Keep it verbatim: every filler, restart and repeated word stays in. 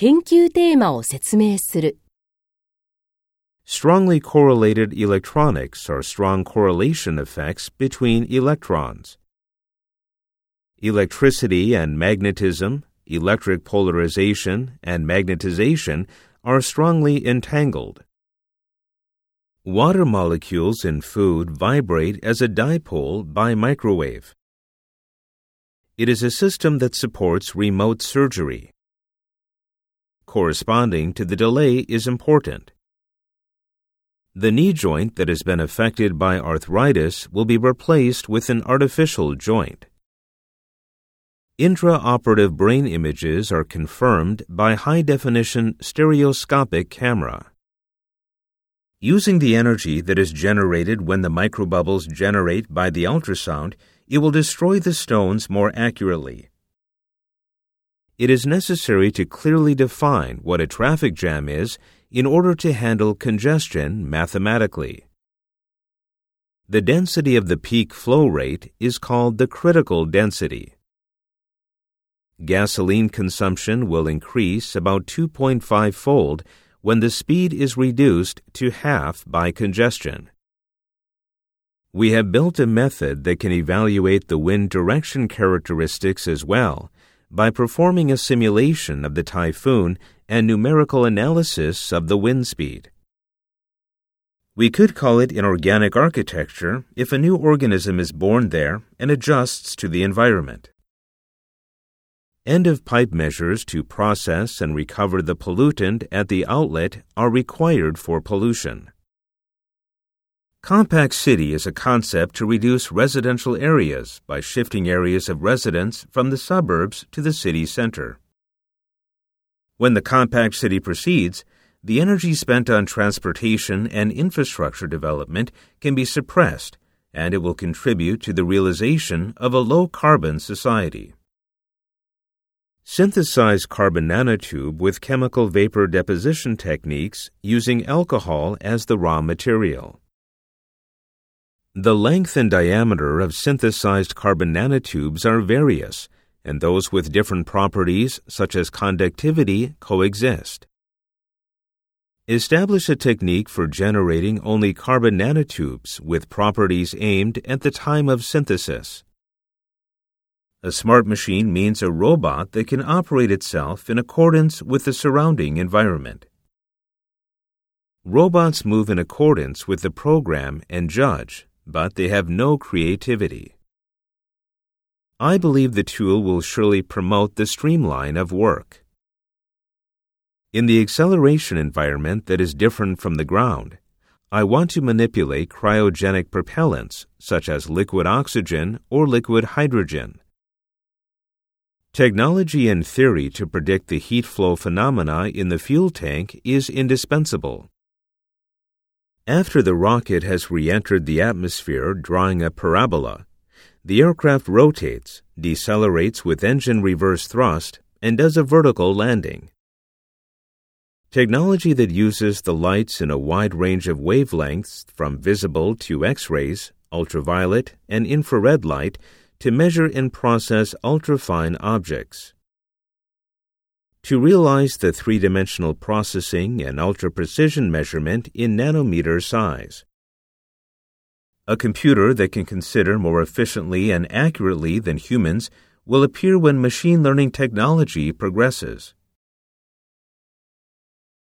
研究テーマを説明する。 Strongly correlated electronics are strong correlation effects between electrons. Electricity and magnetism, electric polarization, and magnetization are strongly entangled. Water molecules in food vibrate as a dipole by microwave. It is a system that supports remote surgery. Corresponding to the delay is important. The knee joint that has been affected by arthritis will be replaced with an artificial joint. Intraoperative brain images are confirmed by high-definition stereoscopic camera. Using the energy that is generated when the microbubbles generate by the ultrasound, it will destroy the stones more accurately. It is necessary to clearly define what a traffic jam is in order to handle congestion mathematically. The density of the peak flow rate is called the critical density. Gasoline consumption will increase about two point five fold when the speed is reduced to half by congestion. We have built a method that can evaluate the wind direction characteristics as well by performing a simulation of the typhoon and numerical analysis of the wind speed. We could call it inorganic architecture if a new organism is born there and adjusts to the environment. End-of-pipe measures to process and recover the pollutant at the outlet are required for pollution. Compact city is a concept to reduce residential areas by shifting areas of residence from the suburbs to the city center. When the compact city proceeds, the energy spent on transportation and infrastructure development can be suppressed, and it will contribute to the realization of a low-carbon society. Synthesize carbon nanotube with chemical vapor deposition techniques using alcohol as the raw material. The length and diameter of synthesized carbon nanotubes are various, and those with different properties, such as conductivity, coexist. Establish a technique for generating only carbon nanotubes with properties aimed at the time of synthesis. A smart machine means a robot that can operate itself in accordance with the surrounding environment. Robots move in accordance with the program and judge, but they have no creativity. I believe the tool will surely promote the streamline of work. In the acceleration environment that is different from the ground, I want to manipulate cryogenic propellants such as liquid oxygen or liquid hydrogen. Technology and theory to predict the heat flow phenomena in the fuel tank is indispensable. After the rocket has re-entered the atmosphere drawing a parabola, the aircraft rotates, decelerates with engine reverse thrust, and does a vertical landing. Technology that uses the lights in a wide range of wavelengths from visible to X-rays, ultraviolet, and infrared light to measure and process ultrafine objects. To realize the three-dimensional processing and ultra-precision measurement in nanometer size. A computer that can consider more efficiently and accurately than humans will appear when machine learning technology progresses.